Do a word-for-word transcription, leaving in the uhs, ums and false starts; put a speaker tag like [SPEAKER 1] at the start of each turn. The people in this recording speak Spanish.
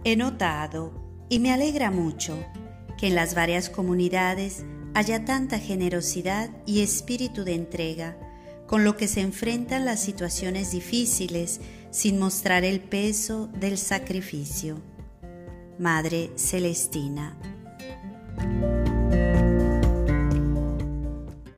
[SPEAKER 1] He notado, y me alegra mucho, que en las varias comunidades haya tanta generosidad y espíritu de entrega, con lo que se enfrentan las situaciones difíciles sin mostrar el peso del sacrificio. Madre Celestina.